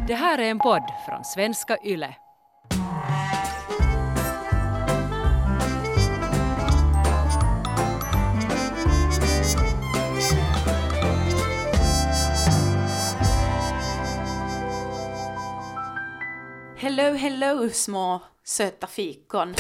Det här är en podd från Svenska Yle. Hello, hello, små söta fikon.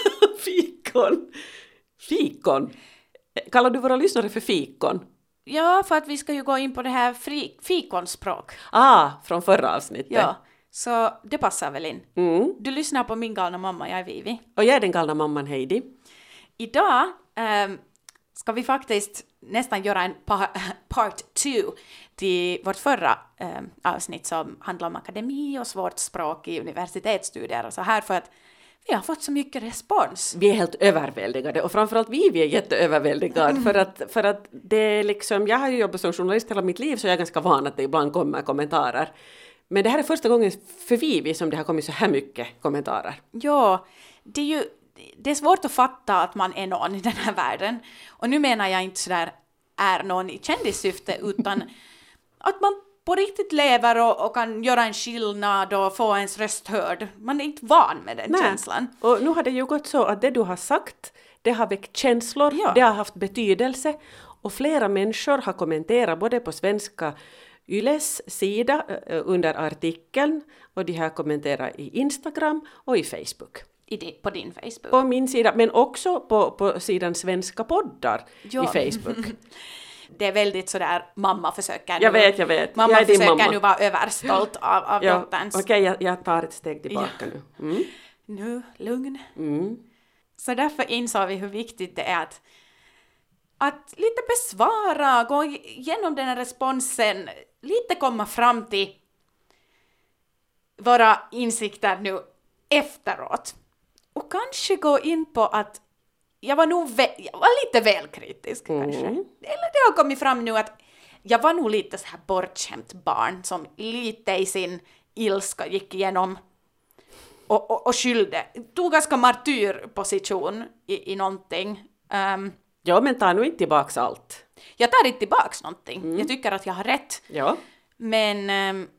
Fikon? Kallar du våra lyssnare för fikon? Ja, för att vi ska ju gå in på det här fikonspråk. Från förra avsnittet. Ja, så det passar väl in. Mm. Du lyssnar på min galna mamma, jag är Vivi. Och jag är den galna mamman Heidi. Idag ska vi faktiskt nästan göra en part 2 till vårt förra avsnitt som handlar om akademi och svårt språk i universitetsstudier och så här, för att vi har fått så mycket respons. Vi är helt överväldigade och framförallt vi är jätteöverväldigade för att det är liksom, jag har ju jobbat som journalist hela mitt liv så jag är ganska van att det ibland kommer kommentarer. Men det här är första gången för Vivi som det har kommit så här mycket kommentarer. Ja, det är svårt att fatta att man är någon i den här världen. Och nu menar jag inte sådär är någon i kändissyfte, utan att man på riktigt lever och kan göra en skillnad och få ens röst hörd. Man är inte van med den känslan. Och nu har det ju gått så att det du har sagt, det har väckt känslor, Ja. Det har haft betydelse. Och flera människor har kommenterat både på Svenska Yles sida under artikeln och de har kommenterat i Instagram och i Facebook. På din Facebook. På min sida, men också på sidan Svenska poddar Ja. i Facebook. Det är väldigt sådär, mamma försöker Jag vet. Mamma Jag är din försöker mamma. nu vara överstolt av dotterns. Okej, jag tar ett steg tillbaka nu. Mm. Nu, lugn. Mm. Så därför insåg vi hur viktigt det är att lite besvara, gå igenom den här responsen, lite komma fram till våra insikter nu efteråt. Och kanske gå in på att jag var lite väl kritisk kanske. Eller det har kommit fram nu att jag var nog lite så här bortskämt barn som lite i sin ilska gick igenom och skyllde. Tog ganska martyrposition i någonting. Ja, men ta nu inte tillbaks allt. Jag tar inte tillbaks någonting. Jag tycker att jag har rätt. Ja. Men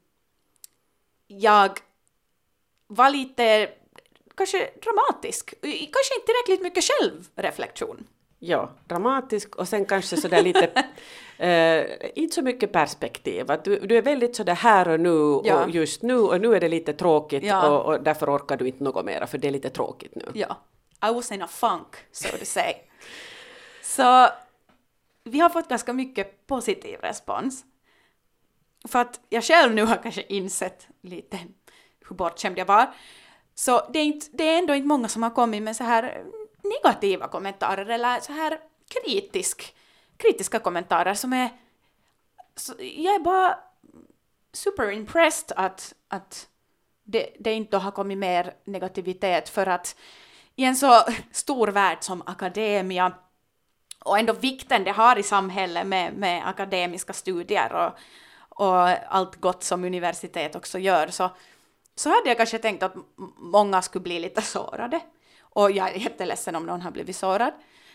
jag var lite kanske dramatisk. Kanske inte tillräckligt mycket självreflektion. Ja, dramatisk och sen kanske sådär lite, inte så mycket perspektiv. Att du är väldigt sådär här och nu och just nu och nu är det lite tråkigt och därför orkar du inte något mera för det är lite tråkigt nu. Ja, I was in a funk, so to say. Så vi har fått ganska mycket positiv respons. För att jag själv nu har kanske insett lite hur bortskämd jag var. Så det är ändå inte många som har kommit med så här negativa kommentarer eller så här kritiska kommentarer som är... Jag är bara super impressed att det inte har kommit mer negativitet, för att i en så stor värld som akademia och ändå vikten det har i samhället med akademiska studier och allt gott som universitet också gör, så hade jag kanske tänkt att många skulle bli lite sårade. Och jag är jätteledsen om någon har blivit sårad.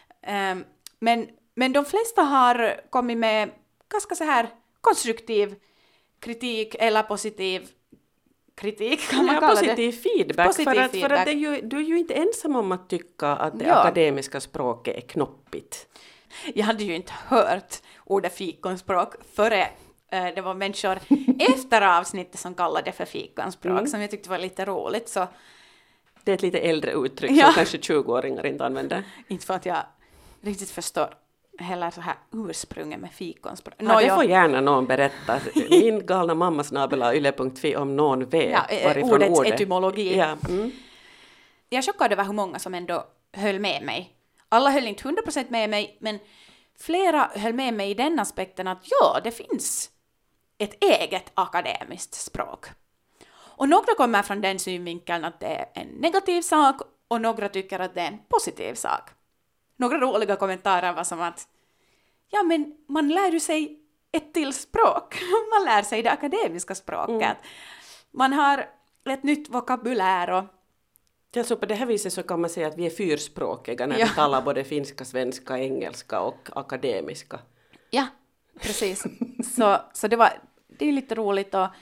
Men de flesta har kommit med ganska så här konstruktiv kritik eller positiv kritik, kan man kalla positiv det. Feedback. Positiv För att feedback. du är ju inte ensam om att tycka att det akademiska språket är knoppigt. Jag hade ju inte hört ordet fikonspråk före det var människor efter avsnittet som kallade det för fikonspråk som jag tyckte var lite roligt. Så. Det är ett lite äldre uttryck som kanske 20-åringar inte använder. Inte för att jag riktigt förstår heller så här ursprunget med fikonspråk. Ja, det får gärna någon berätta. Min galna mamma@yle.fi om någon vet varifrån ordets etymologi. Ja. Jag är chockad över hur många som ändå höll med mig. Alla höll inte 100% med mig, men flera höll med mig i den aspekten att det finns ett eget akademiskt språk. Och några kommer från den synvinkeln att det är en negativ sak och några tycker att det är en positiv sak. Några roliga kommentarer var som att men man lär ju sig ett till språk. Man lär sig det akademiska språket. Man har ett nytt vokabulär och... Ja, så på det här viset så kan man säga att vi är fyrspråkiga när vi talar både finska, svenska, engelska och akademiska. Ja, precis. Så det är lite roligt.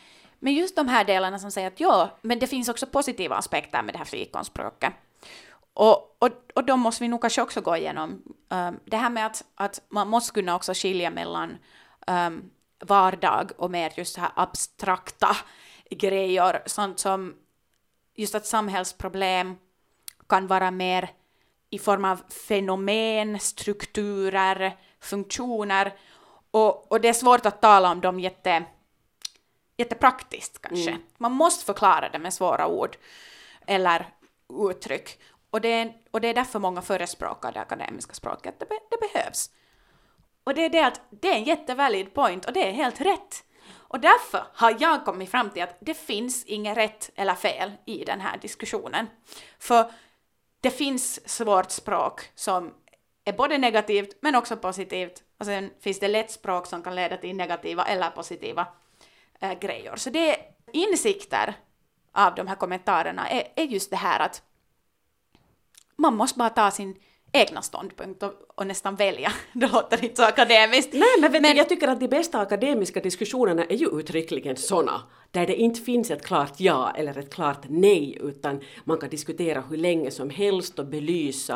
Men just de här delarna som säger att ja, men det finns också positiva aspekter med det här fikonspråket. Och då måste vi nog kanske också gå igenom det här med att man måste kunna också skilja mellan vardag och mer just så här abstrakta grejer, sånt som just att samhällsproblem kan vara mer i form av fenomen, strukturer, funktioner, och det är svårt att tala om dem jättepraktiskt kanske. Man måste förklara det med svåra ord eller uttryck, och det är därför många förespråkar det akademiska språket. Det behövs. Och det är det att det är en jättevalid point, och det är helt rätt. Och därför har jag kommit fram till att det finns inget rätt eller fel i den här diskussionen. För det finns svårt språk som är både negativt men också positivt. Och sen finns det lätt språk som kan leda till negativa eller positiva grejer. Så det är insikter av de här kommentarerna är just det här att man måste bara ta sin egna ståndpunkt och nästan välja. Det låter inte så akademiskt. Nej, men jag tycker att de bästa akademiska diskussionerna är ju uttryckligen såna, där det inte finns ett klart ja eller ett klart nej, utan man kan diskutera hur länge som helst och belysa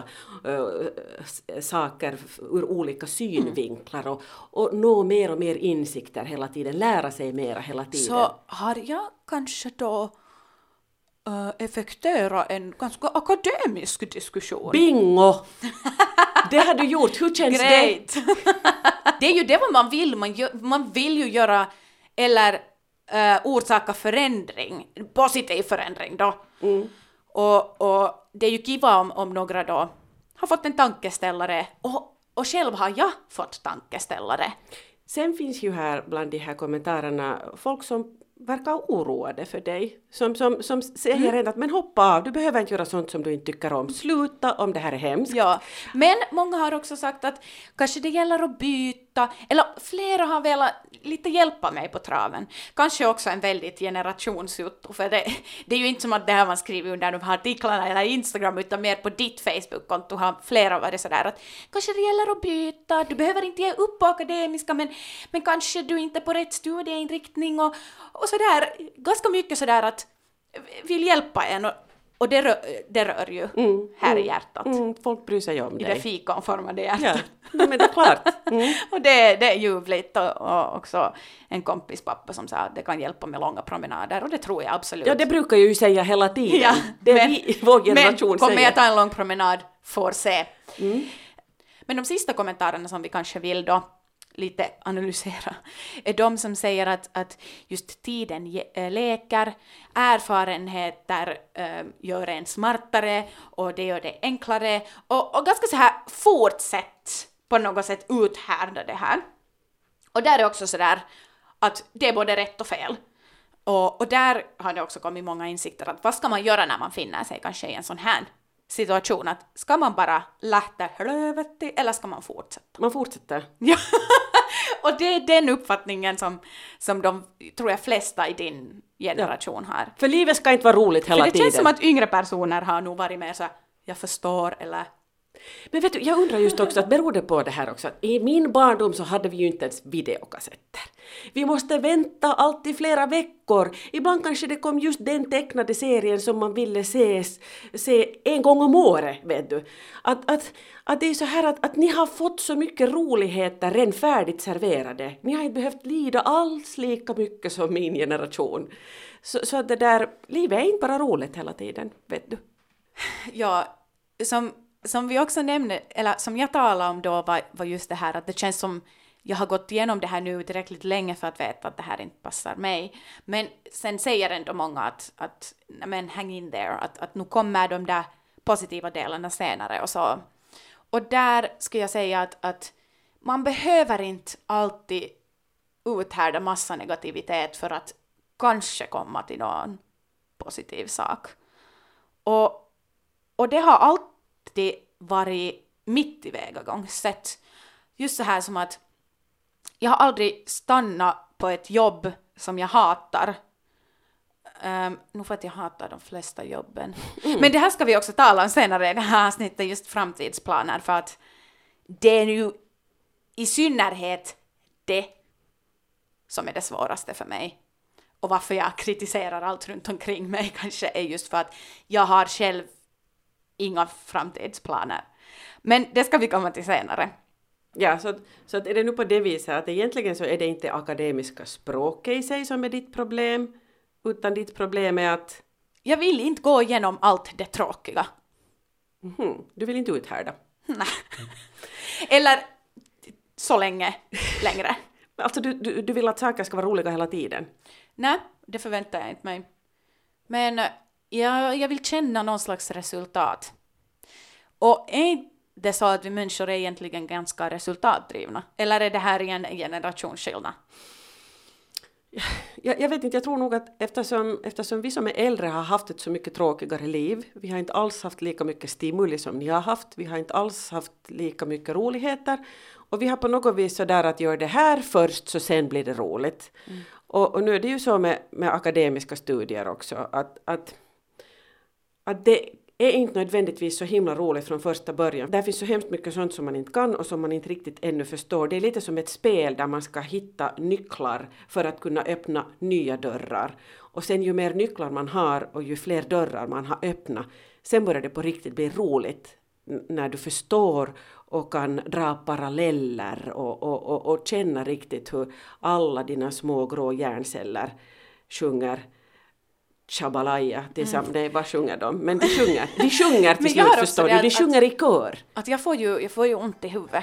saker ur olika synvinklar och nå mer och mer insikter hela tiden, lära sig mera hela tiden. Så har jag kanske då effektera en ganska akademisk diskussion. Bingo! Det har du gjort. Hur känns Great. Det är ju det vad man vill. Man vill ju göra eller orsaka förändring. Positiv förändring då. Och det är ju kiva om några då har fått en tankeställare. Och själv har jag fått tankeställare. Sen finns ju här bland de här kommentarerna folk som verkar oroade för dig. Som säger redan att men hoppa av, du behöver inte göra sånt som du inte tycker om. Sluta om det här är hemskt. Ja, men många har också sagt att kanske det gäller att byta, eller flera har velat lite hjälpa mig på traven. Kanske också en väldigt generationsjutto, för det är ju inte som att det här man skriver under de här artiklarna eller Instagram, utan mer på ditt Facebook-konto har flera varit sådär att kanske det gäller att byta, du behöver inte ge upp på akademiska, men kanske du inte är på rätt studieinriktning och sådär, ganska mycket sådär att vill hjälpa en och det rör ju här i hjärtat. Folk bryr sig om I dig. det fikonformade hjärtat. Ja, men det är klart. Och det är ljuvligt och också en kompis pappa som sa att det kan hjälpa med långa promenader, och det tror jag absolut. Ja, det brukar jag ju säga hela tiden. Ja, det är vi, vår generation men kommer säger. jag ta en lång promenad, får se. Men de sista kommentarerna som vi kanske vill då lite analysera är de som säger att just tiden leker, erfarenheter gör en smartare och det gör det enklare och ganska så här fortsätt på något sätt uthärda det här. Och där är också så där att det är både rätt och fel. Och där har det också kommit många insikter att vad ska man göra när man finner sig kanske i en sån här situation, att ska man bara lätta helvete eller ska man fortsätta? Man fortsätter. Ja, och det är den uppfattningen som de, tror jag, flesta i din generation har. För livet ska inte vara roligt hela tiden. För det tiden. känns som att yngre personer har nog varit mer så här, jag förstår eller... Men vet du, jag undrar just också att beror det på det här också, att i min barndom så hade vi ju inte ens videokassetter. Vi måste vänta alltid flera veckor. Ibland kanske det kom just den tecknade serien som man ville se en gång om året, vet du. Att det är så här att ni har fått så mycket roligheter redan färdigt serverade. Ni har inte behövt lida alls lika mycket som min generation. Så att det där, livet är inte bara roligt hela tiden, vet du. Ja, som vi också nämnde, eller som jag talade om då var just det här att det känns som jag har gått igenom det här nu tillräckligt länge för att veta att det här inte passar mig. Men sen säger ändå många att men hang in there, att nu kommer de där positiva delarna senare och så. Och där ska jag säga att man behöver inte alltid uthärda massa negativitet för att kanske komma till någon positiv sak. Och det har alltid varit mitt tillvägagångssätt. Just så här som att jag har aldrig stannat på ett jobb som jag hatar. Nu för att jag hatar de flesta jobben. Men det här ska vi också tala om senare i det här avsnittet, just framtidsplaner. För att det är ju i synnerhet det som är det svåraste för mig. och varför jag kritiserar allt runt omkring mig kanske är just för att jag har själv inga framtidsplaner. Men det ska vi komma till senare. Ja, så att är det nu på det viset att egentligen så är det inte akademiska språket i sig som är ditt problem, utan ditt problem är att... Jag vill inte gå igenom allt det tråkiga. Du vill inte uthärda. Nej. Eller så längre. Alltså du vill att saker ska vara roliga hela tiden? Nej, det förväntar jag inte mig. Men jag vill känna någon slags resultat. Och är det så att vi människor är egentligen ganska resultatdrivna? Eller är det här en generationsskillnad? Jag vet inte, jag tror nog att eftersom vi som är äldre har haft ett så mycket tråkigare liv, vi har inte alls haft lika mycket stimuli som ni har haft, vi har inte alls haft lika mycket roligheter, och vi har på något vis sådär att göra det här först så sen blir det roligt. Och nu är det ju så med akademiska studier också, att det är inte nödvändigtvis så himla roligt från första början. Där finns så hemskt mycket sånt som man inte kan och som man inte riktigt ännu förstår. Det är lite som ett spel där man ska hitta nycklar för att kunna öppna nya dörrar. Och sen ju mer nycklar man har och ju fler dörrar man har öppnat, sen börjar det på riktigt bli roligt när du förstår och kan dra paralleller och känna riktigt hur alla dina små grå hjärnceller sjunger Shabalaya tillsammans. Nej, vad sjunger de? Men de sjunger till slut, förstår du. De sjunger i kör. Att jag får ju ont i huvudet.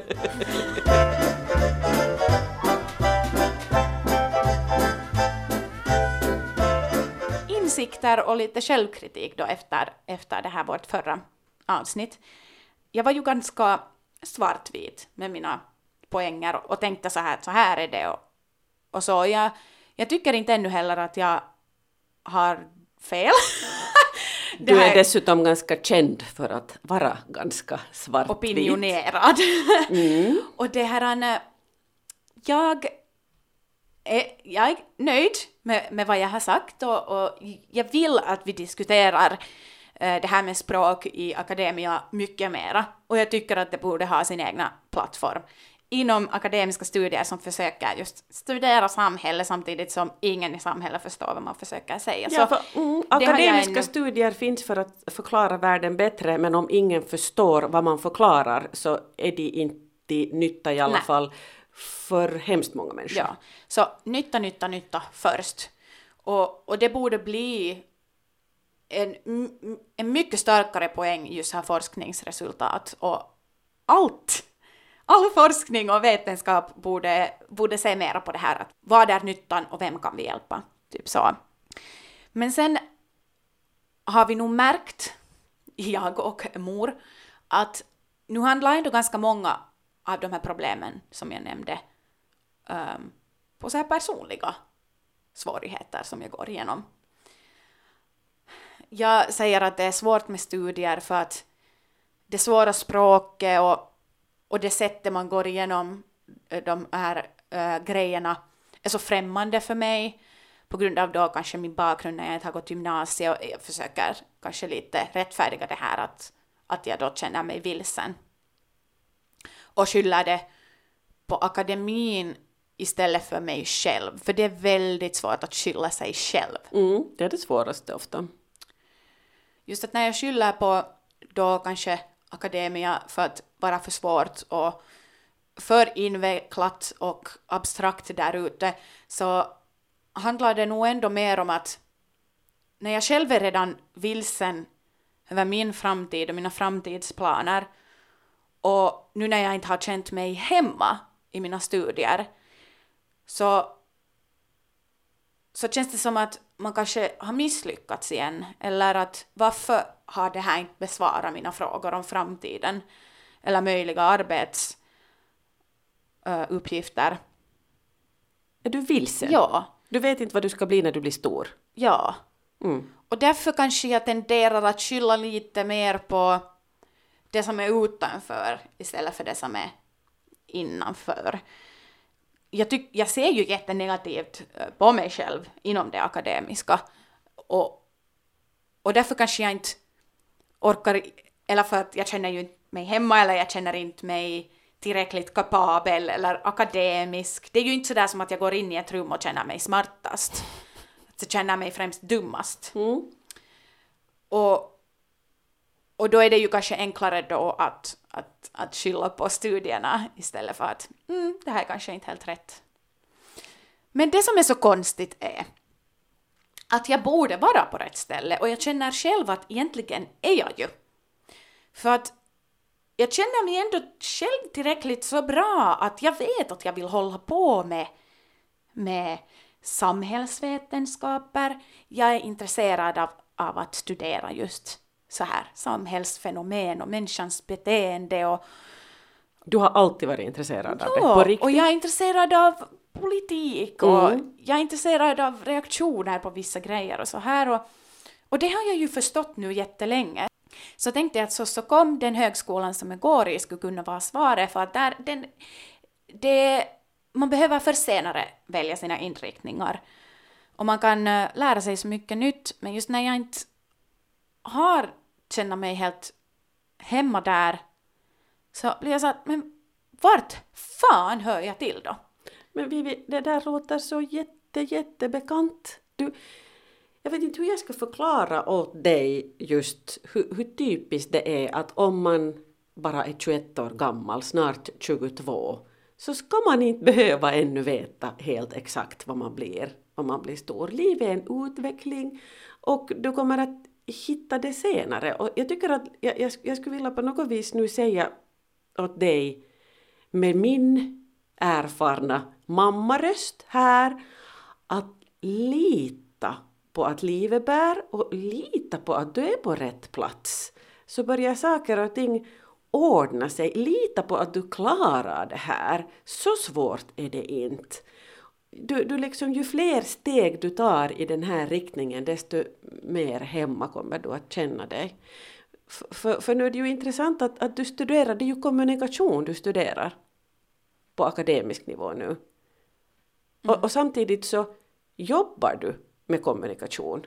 Insikter och lite självkritik då efter det här vårt förra avsnitt. Jag var ju ganska svartvit med mina poänger och tänkte så här är det. Och så jag tycker inte ännu heller att jag har fel. Du är dessutom ganska känd för att vara ganska svartvit. Opinionerad. Och det här, jag är nöjd med vad jag har sagt och jag vill att vi diskuterar det här med språk i akademia mycket mera. Och jag tycker att det borde ha sin egna plattform inom akademiska studier som försöker just studera samhället samtidigt som ingen i samhället förstår vad man försöker säga. Ja, för, akademiska studier finns för att förklara världen bättre, men om ingen förstår vad man förklarar så är de inte nytta i alla fall för hemskt många människor. Ja, så nytta först. Och det borde bli en mycket starkare poäng just här forskningsresultat och all forskning och vetenskap borde se mera på det här. Att vad är nyttan och vem kan vi hjälpa? Typ så. Men sen har vi nog märkt, jag och mor, att nu handlar ändå ganska många av de här problemen som jag nämnde på så här personliga svårigheter som jag går igenom. Jag säger att det är svårt med studier för att det svåra språket och det sättet man går igenom de här grejerna är så främmande för mig på grund av då kanske min bakgrund när jag inte har gått gymnasiet och jag försöker kanske lite rättfärdiga det här att jag då känner mig vilsen och skyller det på akademin istället för mig själv, för det är väldigt svårt att skylla sig själv. Det är det svåraste ofta. Just att när jag skyller på då kanske akademia för att vara för svårt och för invecklat och abstrakt där ute, så handlar det nog ändå mer om att när jag själv är redan vilsen över min framtid och mina framtidsplaner och nu när jag inte har känt mig hemma i mina studier så känns det som att man kanske har misslyckats igen, eller att varför har det här inte besvarat mina frågor om framtiden eller möjliga arbetsuppgifter. Är du vilsen? Ja. Du vet inte vad du ska bli när du blir stor? Ja. Och därför kanske jag tenderar att skylla lite mer på det som är utanför istället för det som är innanför. Jag ser ju jättenegativt på mig själv inom det akademiska. Och därför kanske jag inte orkar, eller för att jag känner ju inte mig hemma eller jag känner inte mig tillräckligt kapabel eller akademisk. Det är ju inte sådär som att jag går in i ett rum och känner mig smartast. så känner jag mig främst dummast. Mm. Och då är det ju kanske enklare då att skylla på studierna istället för att det här är kanske inte helt rätt. Men det som är så konstigt är att jag borde vara på rätt ställe och jag känner själv att egentligen är jag ju. För att jag känner mig ändå själv tillräckligt så bra att jag vet att jag vill hålla på med samhällsvetenskaper. Jag är intresserad av att studera just så här samhällsfenomen och människans beteende. Och Du har alltid varit intresserad av det, på riktigt? Och jag är intresserad av politik och jag är intresserad av reaktioner på vissa grejer och så här. Och det har jag ju förstått nu jättelänge. Så tänkte jag att så kom den högskolan som jag går i skulle kunna vara svaret, för att man behöver för senare välja sina inriktningar. Och man kan lära sig så mycket nytt, men just när jag inte känner mig helt hemma där så blir jag så att, men vart fan hör jag till då? Men Vivi, det där låter så jättebekant. Jag vet inte hur jag ska förklara åt dig just hur typiskt det är att om man bara är 21 år gammal, snart 22, så ska man inte behöva ännu veta helt exakt vad man blir om man blir stor. Livet är en utveckling och du kommer att hitta det senare. Och jag tycker att jag skulle vilja på något vis nu säga åt dig med min erfarna mammaröst här att lita på att livet bär och lita på att du är på rätt plats. Så börjar saker och ting ordna sig. Lita på att du klarar det här. Så svårt är det inte. Du liksom, ju fler steg du tar i den här riktningen, desto mer hemma kommer du att känna dig. För nu är det ju intressant att du studerar, det är ju kommunikation du studerar på akademisk nivå nu. Och samtidigt så jobbar du med kommunikation.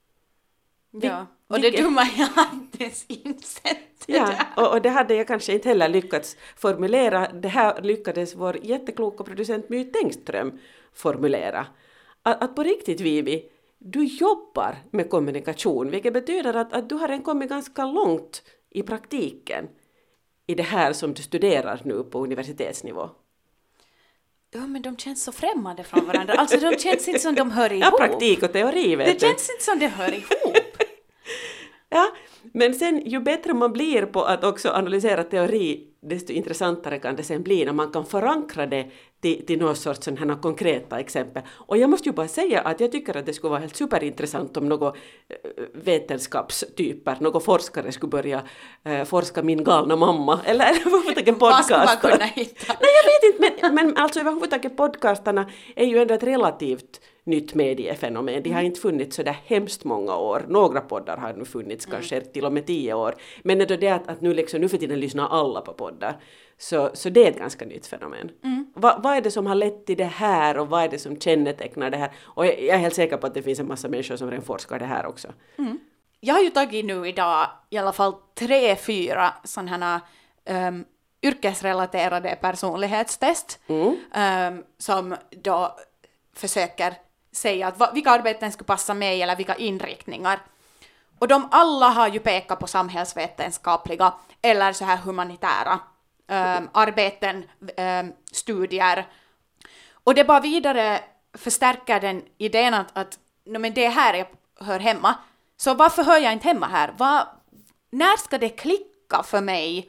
Ja, och det dumma jag har inte ens insett. Ja, och det hade jag kanske inte heller lyckats formulera. Det här lyckades vår jättekloka producent My Tengström formulera. Att på riktigt, Vivi, du jobbar med kommunikation, vilket betyder att du har kommit ganska långt i praktiken i det här som du studerar nu på universitetsnivå. Ja, men de känns så främmande från varandra. Alltså de känns inte som de hör ihop. Ja, praktik och teori, vet du. Det känns inte som de hör ihop. Ja, men sen ju bättre man blir på att också analysera teori, desto intressantare kan det sen bli när man kan förankra det till någon sorts sådana konkreta exempel. Och jag måste ju bara säga att jag tycker att det skulle vara helt superintressant om några vetenskapstyper, några forskare skulle börja forska min galna mamma. Eller överhuvudtaget podcastar. Vad skulle man kunna hitta? Nej, jag vet inte, men alltså överhuvudtaget podcastarna är ju ändå ett relativt nytt mediefenomen. De har inte funnits så där hemskt många år. Några poddar har nu funnits kanske till och med 10 år. Men ändå det att nu för tiden lyssnar alla på poddar. Så det är ett ganska nytt fenomen. Vad är det som har lett till det här och vad är det som kännetecknar det här? Och jag är helt säker på att det finns en massa människor som redan forskar det här också. Jag har ju tagit nu idag i alla fall 3-4 sådana yrkesrelaterade personlighetstest som då försöker säga att vilka arbeten skulle passa mig eller vilka inriktningar. Och de alla har ju pekat på samhällsvetenskapliga eller så här humanitära arbeten, studier. Och det bara vidare förstärker den idén att men det här jag hör hemma. Så varför hör jag inte hemma här? När ska det klicka för mig?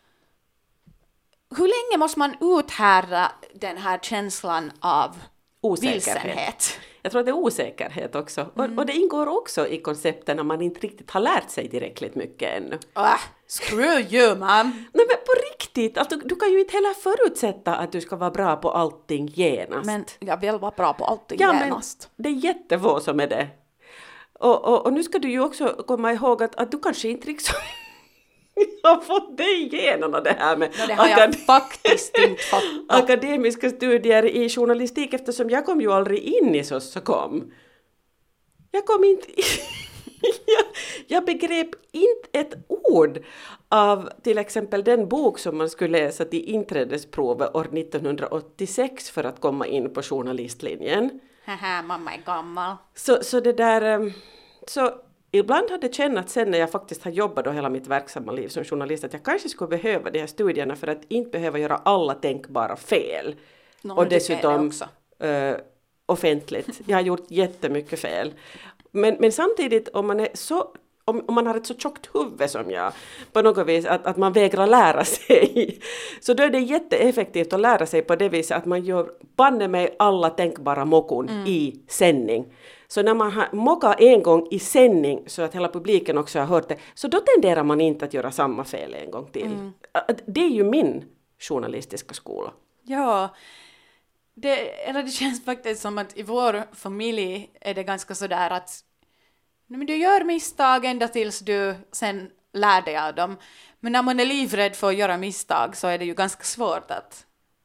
Hur länge måste man uthärda den här känslan av vilsenhet? Jag tror att det är osäkerhet också. Och det ingår också i koncepten när man inte riktigt har lärt sig tillräckligt mycket ännu. Screw you, man! Nej, men på riktigt, alltså, du kan ju inte heller förutsätta att du ska vara bra på allting genast. Men jag vill vara bra på allting genast. Men det är jättefå som är det. Och nu ska du ju också komma ihåg att du kanske inte liksom har fått det igenom det här med det har jag faktiskt inte fått. Akademiska studier i journalistik, eftersom jag kom ju aldrig in i Sossokom. Jag kom inte jag begrep inte ett ord av till exempel den bok som man skulle läsa till inträdesprovet år 1986 för att komma in på journalistlinjen. Haha, mamma är gammal. Så det där... Så ibland har det kännats sen när jag faktiskt har jobbat då hela mitt verksamma liv som journalist att jag kanske skulle behöva de här studierna för att inte behöva göra alla tänkbara fel. Och dessutom offentligt. Jag har gjort jättemycket fel. Men samtidigt om man är så... Om man har ett så tjockt huvud som jag, på något vis, att man vägrar lära sig, så då är det jätteeffektivt att lära sig på det viset att man gör banne mig alla tänkbara mockon i sändning. Så när man har mockat en gång i sändning så att hela publiken också har hört det, så då tenderar man inte att göra samma fel en gång till. Det är ju min journalistiska skola. Ja, det känns faktiskt som att i vår familj är det ganska sådär att men du gör misstag ända tills du sen lär dig av dem. Men när man är livrädd för att göra misstag så är det ju ganska svårt att...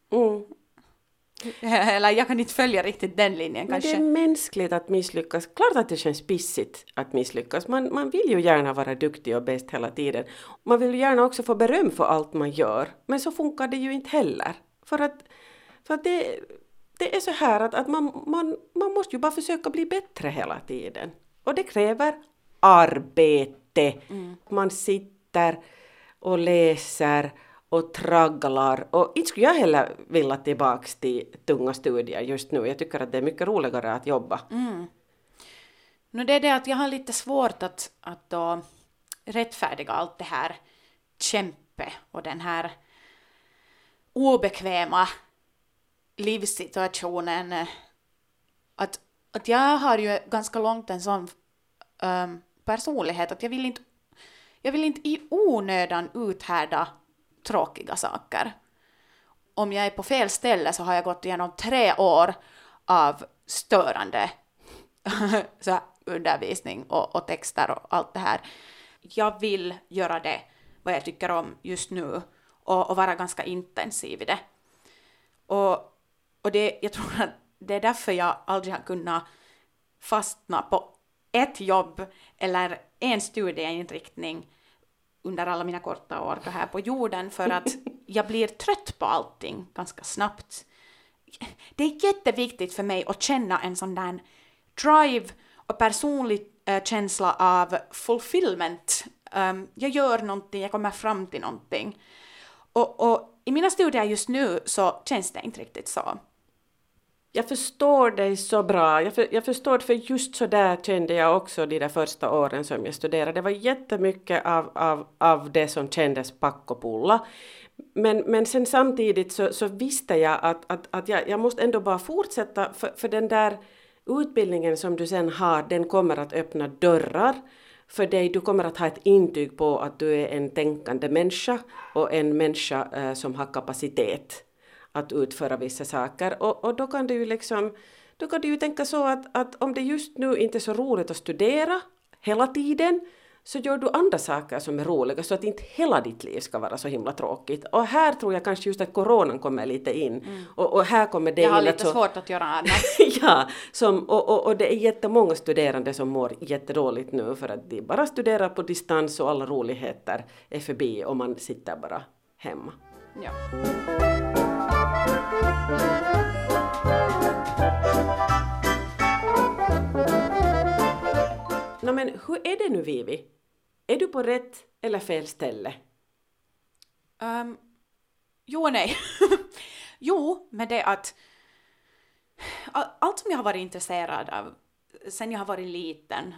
Eller jag kan inte följa riktigt den linjen kanske. Men det är mänskligt att misslyckas. Klart att det känns pissigt att misslyckas. Man vill ju gärna vara duktig och bäst hela tiden. Man vill ju gärna också få beröm för allt man gör. Men så funkar det ju inte heller. För att det är så här att man måste ju bara försöka bli bättre hela tiden. Och det kräver arbete. Man sitter och läser och tragglar. Och inte skulle jag heller vilja tillbaka till tunga studier just nu. Jag tycker att det är mycket roligare att jobba. Det är det att jag har lite svårt att då rättfärdiga allt det här kämpe och den här obekväma livssituationen. Att jag har ju ganska långt en sån personlighet att jag vill inte i onödan uthärda tråkiga saker. Om jag är på fel ställe så har jag gått igenom 3 år av störande så undervisning och texter och allt det här. Jag vill göra det vad jag tycker om just nu och vara ganska intensiv i det. Och det, jag tror att det är därför jag aldrig har kunnat fastna på ett jobb eller en studieinriktning under alla mina korta år här på jorden, för att jag blir trött på allting ganska snabbt. Det är jätteviktigt för mig att känna en sån där drive och personlig känsla av fulfillment. Jag gör någonting, jag kommer fram till någonting. Och i mina studier just nu så känns det inte riktigt så. Jag förstår dig så bra. Jag förstår, för just så där kände jag också de där första åren som jag studerade. Det var jättemycket av det som kändes pack och pulla. Men sen samtidigt så visste jag att jag måste ändå bara fortsätta, för den där utbildningen som du sen har, den kommer att öppna dörrar för dig. Du kommer att ha ett intyg på att du är en tänkande människa och en människa som har kapacitet att utföra vissa saker. Och då kan du ju tänka så att om det just nu inte är så roligt att studera hela tiden, så gör du andra saker som är roliga, så att inte hela ditt liv ska vara så himla tråkigt. Och här tror jag kanske just att coronan kommer lite in. Och här kommer det. Jag har lite svårt att göra annat. Ja, och det är jättemånga studerande som mår jättedåligt nu för att de bara studerar på distans och alla roligheter är förbi och man sitter bara hemma. Ja. Men hur är det nu, Vivi? Är du på rätt eller fel ställe? Jo och nej. Jo, men det att allt som jag har varit intresserad av sen jag har varit liten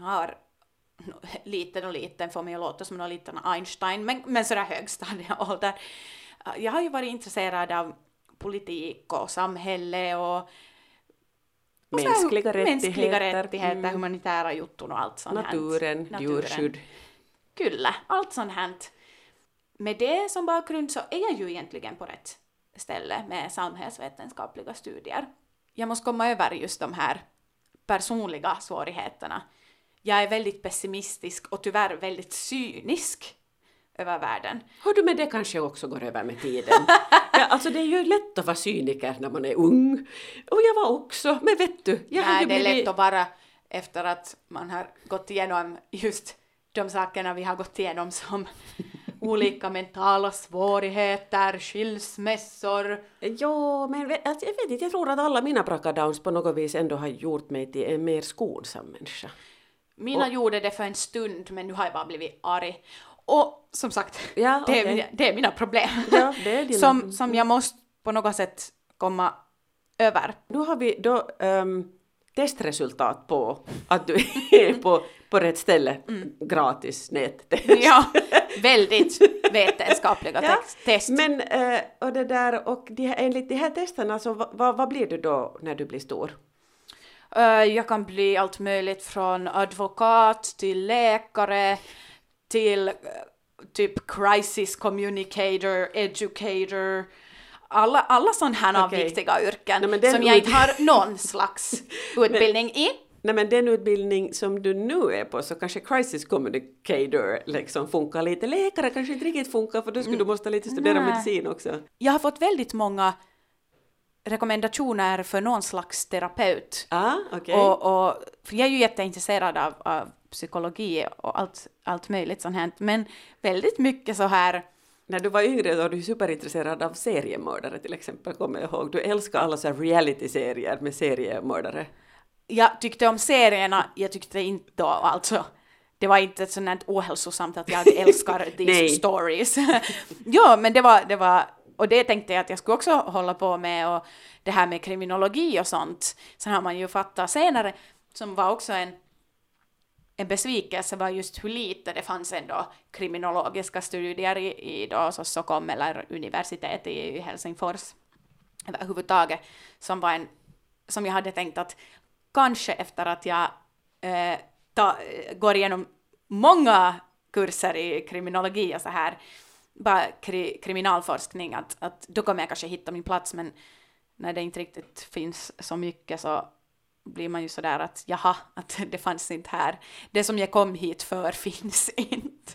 får mig att låta som någon liten Einstein, men sådär högstadieålder. Jag har ju varit intresserad av politik och samhälle och mänskliga rättigheter, humanitära jutton och allt sånt. Naturen, djurskydd. Kyllä, allt sånt här. Med det som bakgrund så är jag ju egentligen på rätt ställe med samhällsvetenskapliga studier. Jag måste komma över just de här personliga svårigheterna. Jag är väldigt pessimistisk och tyvärr väldigt cynisk över världen. Hör du, med det kanske också går över med tiden. Ja, alltså det är ju lätt att vara cyniker när man är ung. Och jag var också, men vet du. Det är lätt att vara efter att man har gått igenom just de sakerna vi har gått igenom som olika mentala svårigheter, skilsmässor. Jo, men alltså, jag vet inte, jag tror att alla mina bracadowns på något vis ändå har gjort mig till en mer skonsam människa. Mina gjorde det för en stund, men nu har jag bara blivit arg. Och som sagt, Ja, det är mina problem. Ja, det är dina... som jag måste på något sätt komma över. Nu har vi då testresultat på att du är på rätt ställe. Gratis nättest. Ja, väldigt vetenskapliga test. Men och det där, och enligt de här testerna, så vad blir du då när du blir stor? Jag kan bli allt möjligt från advokat till läkare till typ crisis communicator, educator, alla sådana här viktiga yrken som jag inte har någon slags utbildning i. Nej, men den utbildning som du nu är på, så kanske crisis communicator liksom funkar lite. Läkare kanske inte riktigt funkar, för då skulle du måste lite studera medicin också. Jag har fått väldigt många rekommendationer för någon slags terapeut. Okay. Och för jag är ju jätteintresserad av psykologi och allt möjligt sånt här, men väldigt mycket så här. När du var yngre var du superintresserad av seriemördare till exempel, kommer jag ihåg. Du älskar alla så här reality-serier med seriemördare. Jag tyckte om serierna, jag tyckte inte då, alltså. Det var inte ett sånt här ohälsosamt att jag älskar these stories. Ja, men det var, och det tänkte jag att jag skulle också hålla på med, och det här med kriminologi och sånt. Sen har man ju fattat senare, som var också en besvikelse, var just hur lite det fanns ändå kriminologiska studier i då Stockholm eller universitet i Helsingfors överhuvudtaget, som jag hade tänkt att kanske efter att jag går igenom många kurser i kriminologi och så här, bara kriminalforskning, att då kommer jag kanske hitta min plats, men när det inte riktigt finns så mycket så blir man ju sådär att jaha, att det fanns inte här. Det som jag kom hit för finns inte.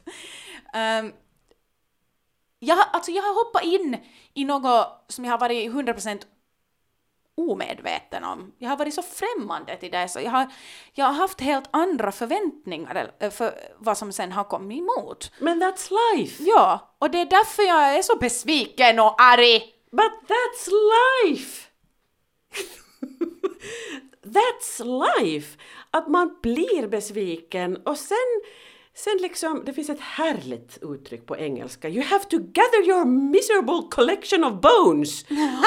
Jag har hoppat in i något som jag har varit 100% omedveten om. Jag har varit så främmande till det, så jag har haft helt andra förväntningar för vad som sen har kommit emot. Men that's life! Ja, och det är därför jag är så besviken och arg. But that's life! That's life! Att man blir besviken, och sen liksom, det finns ett härligt uttryck på engelska. You have to gather your miserable collection of bones.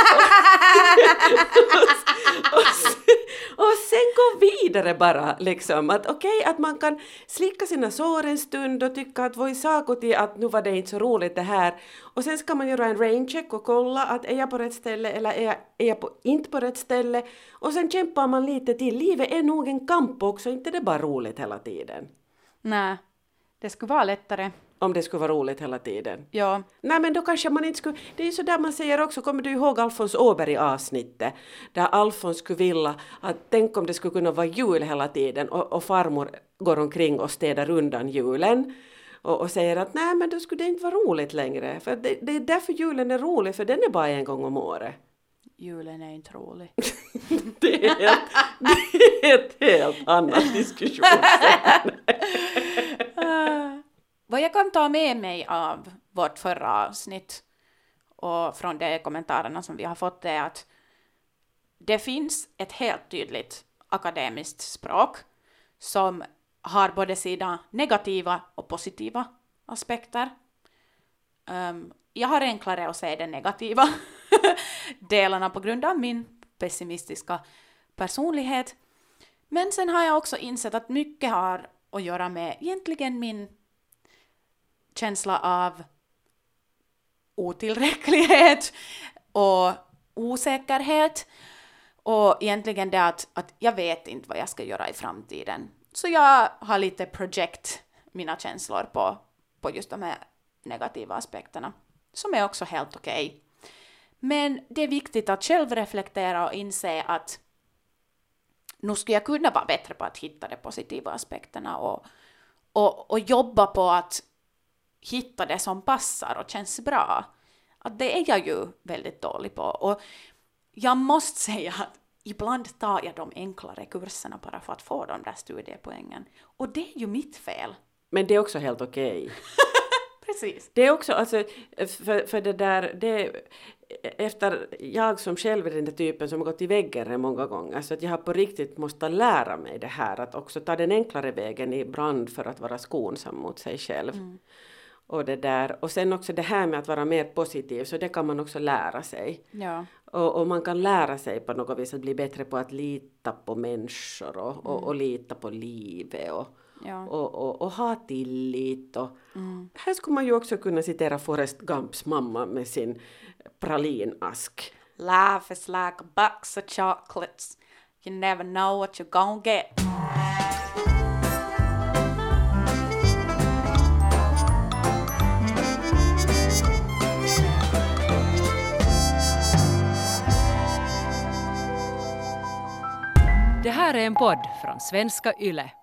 och sen gå vidare bara, liksom. Att okej, att man kan slicka sina sår en stund och tycka att voi saakuti, att nu var det inte så roligt det här. Och sen ska man göra en raincheck och kolla att är jag på rätt ställe eller är jag inte på rätt ställe. Och sen kämpar man lite till. Livet är nog en kamp också, inte det bara roligt hela tiden. Nej. Det skulle vara lättare. Om det skulle vara roligt hela tiden. Ja. Nej, men då kanske man inte skulle... Det är ju så där man säger också, kommer du ihåg Alfons Åberg-avsnittet? Där Alfons skulle vilja att tänk om det skulle kunna vara jul hela tiden, och farmor går omkring och städar undan julen. Och säger att nej, men då skulle det inte vara roligt längre. För det är därför julen är rolig, för den är bara en gång om året. Julen är inte rolig. det är ett helt annat diskussion. Vad jag kan ta med mig av vårt förra avsnitt och från de kommentarerna som vi har fått är att det finns ett helt tydligt akademiskt språk som har både sina negativa och positiva aspekter. Jag har enklare att se den negativa delarna på grund av min pessimistiska personlighet. Men sen har jag också insett att mycket har att göra med egentligen min känsla av otillräcklighet och osäkerhet. Och egentligen det att jag vet inte vad jag ska göra i framtiden. Så jag har lite project mina känslor på just de här negativa aspekterna. Som är också helt okej. Men det är viktigt att själv reflektera och inse att nu skulle jag kunna vara bättre på att hitta de positiva aspekterna och jobba på att hitta det som passar och känns bra. Att det är jag ju väldigt dålig på. Och jag måste säga att ibland tar jag de enklare kurserna bara för att få de där studiepoängen. Och det är ju mitt fel. Men det är också helt okej. precis. Det är också, alltså, för det där, efter jag som själv är den där typen som har gått i väggen många gånger, så att jag har på riktigt måste lära mig det här, att också ta den enklare vägen ibland för att vara skonsam mot sig själv. Och det där, och sen också det här med att vara mer positiv, så det kan man också lära sig. Ja. Och man kan lära sig på något vis att bli bättre på att lita på människor och lita på livet och ha tillit. Här skulle man ju också kunna citera Forrest Gumps mamma med sin pralinask. Life is like a box of chocolates. You never know what you're gonna get. Det här är en podd från svenska YLE.